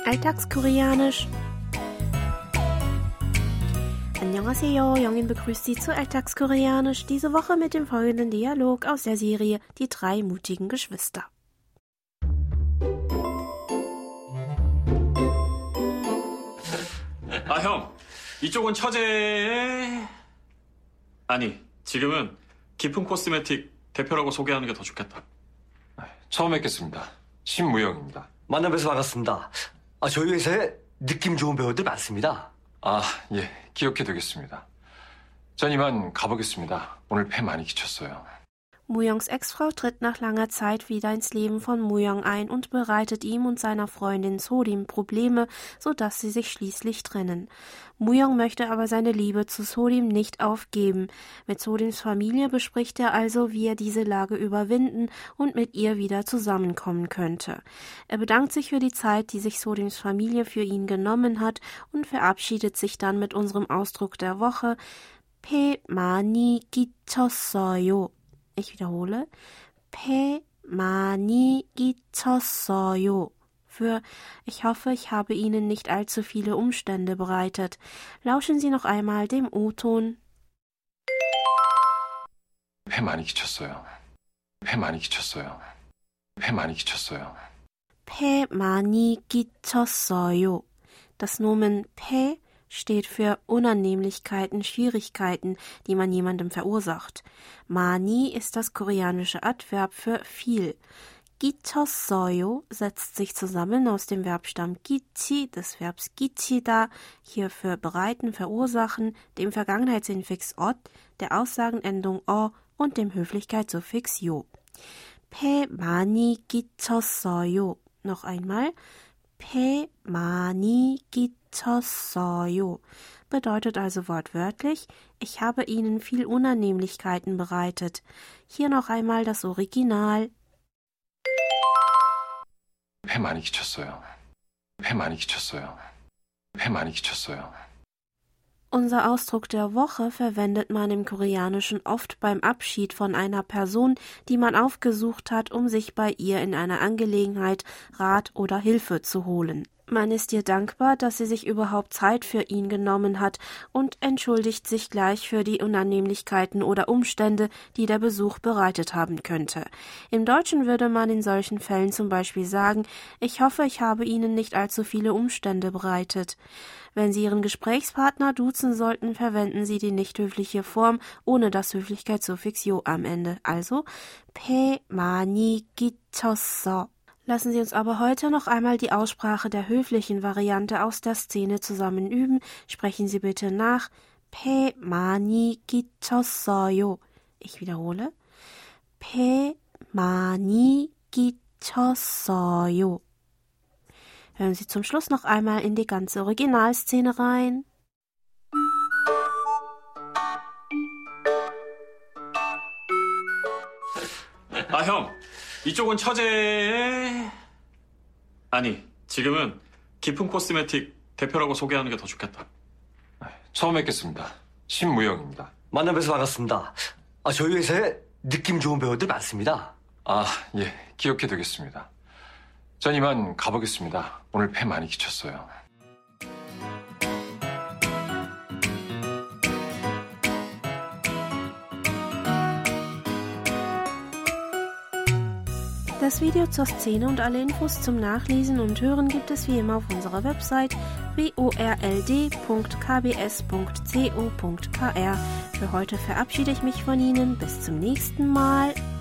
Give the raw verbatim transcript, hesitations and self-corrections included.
Alltagskoreanisch. Annyeonghaseyo, Jongin begrüßt Sie zu Alltagskoreanisch, diese Woche mit dem folgenden Dialog aus der Serie Die drei mutigen Geschwister. 아, 형. 이쪽은 처제의... 아니, 지금은 깊은 코스메틱 대표라고 소개하는 게 더 좋겠다. 처음 뵙겠습니다. 신무영입니다. 만나 뵈서 반갑습니다. 아, 저희 회사에 느낌 좋은 배우들 많습니다. 아, 예, 기억해두겠습니다. 전 이만 가보겠습니다. 오늘 폐 많이 끼쳤어요. Muyongs Ex-Frau tritt nach langer Zeit wieder ins Leben von Muyong ein und bereitet ihm und seiner Freundin Sodim Probleme, sodass sie sich schließlich trennen. Muyong möchte aber seine Liebe zu Sodim nicht aufgeben. Mit Sodims Familie bespricht er also, wie er diese Lage überwinden und mit ihr wieder zusammenkommen könnte. Er bedankt sich für die Zeit, die sich Sodims Familie für ihn genommen hat und verabschiedet sich dann mit unserem Ausdruck der Woche 폐 많이 끼쳤어요. Ich wiederhole, 폐 많이 끼쳤어요. Für ich hoffe, ich habe Ihnen nicht allzu viele Umstände bereitet. Lauschen Sie noch einmal dem O-Ton. 폐 많이 끼쳤어요. 폐 많이 끼쳤어요. 폐 많이 끼쳤어요. 폐 많이 끼쳤어요. Das Nomen 폐 steht für Unannehmlichkeiten, Schwierigkeiten, die man jemandem verursacht. 많이 ist das koreanische Adverb für viel. 끼쳤어요 setzt sich zusammen aus dem Verbstamm 끼치, des Verbs 끼치다, hier für bereiten, verursachen, dem Vergangenheitsinfix ot, der Aussagenendung o und dem Höflichkeitssuffix 요. 폐 많이 끼쳤어요. Noch einmal. 폐 많이 끼쳤어요 bedeutet also wortwörtlich, ich habe Ihnen viel Unannehmlichkeiten bereitet. Hier noch einmal das Original. 폐 많이 끼쳤어요. 폐 많이 끼쳤어요. 폐 많이 끼쳤어요. Unser Ausdruck der Woche verwendet man im Koreanischen oft beim Abschied von einer Person, die man aufgesucht hat, um sich bei ihr in einer Angelegenheit Rat oder Hilfe zu holen. Man ist ihr dankbar, dass sie sich überhaupt Zeit für ihn genommen hat und entschuldigt sich gleich für die Unannehmlichkeiten oder Umstände, die der Besuch bereitet haben könnte. Im Deutschen würde man in solchen Fällen zum Beispiel sagen, ich hoffe, ich habe Ihnen nicht allzu viele Umstände bereitet. Wenn Sie Ihren Gesprächspartner duzen sollten, verwenden Sie die nicht höfliche Form ohne das Höflichkeitssuffix 요 am Ende, also 폐 많이 끼쳤어. Lassen Sie uns aber heute noch einmal die Aussprache der höflichen Variante aus der Szene zusammen üben. Sprechen Sie bitte nach. 폐 많이 끼쳤어요. Ich wiederhole. 폐 많이 끼쳤어요. Hören Sie zum Schluss noch einmal in die ganze Originalszene rein. 아, 형. 이쪽은 처제의... 아니, 지금은 깊은 코스메틱 대표라고 소개하는 게 더 좋겠다. 처음 뵙겠습니다. 신무영입니다. 만나 뵈서 반갑습니다. 아, 저희 회사에 느낌 좋은 배우들 많습니다. 아, 예, 기억해두겠습니다. 전 이만 가보겠습니다. 오늘 폐 많이 끼쳤어요. Das Video zur Szene und alle Infos zum Nachlesen und Hören gibt es wie immer auf unserer Website w o r l d punkt k b s punkt co punkt k r. Für heute verabschiede ich mich von Ihnen. Bis zum nächsten Mal.